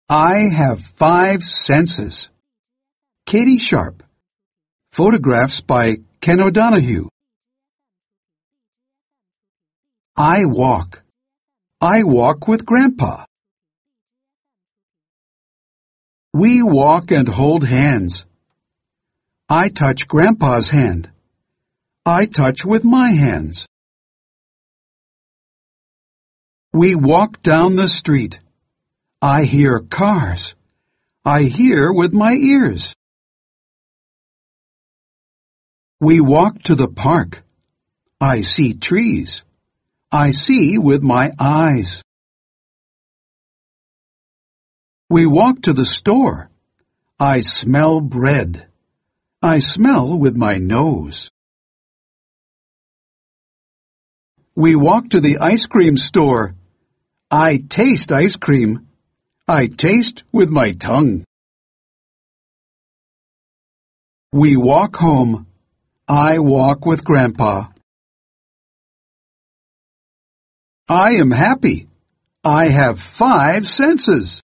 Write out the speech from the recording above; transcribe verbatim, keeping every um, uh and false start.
I have five senses. Katie Sharp. Photographs by Ken O'Donohue. I walk. I walk with Grandpa. We walk and hold hands. I touch Grandpa's hand. I touch with my hands. We walk down the street. I hear cars. I hear with my ears. We walk to the park. I see trees. I see with my eyes. We walk to the store. I smell bread. I smell with my nose. We walk to the ice cream store. I taste ice cream. I taste with my tongue. We walk home. I walk with Grandpa. I am happy. I have five senses.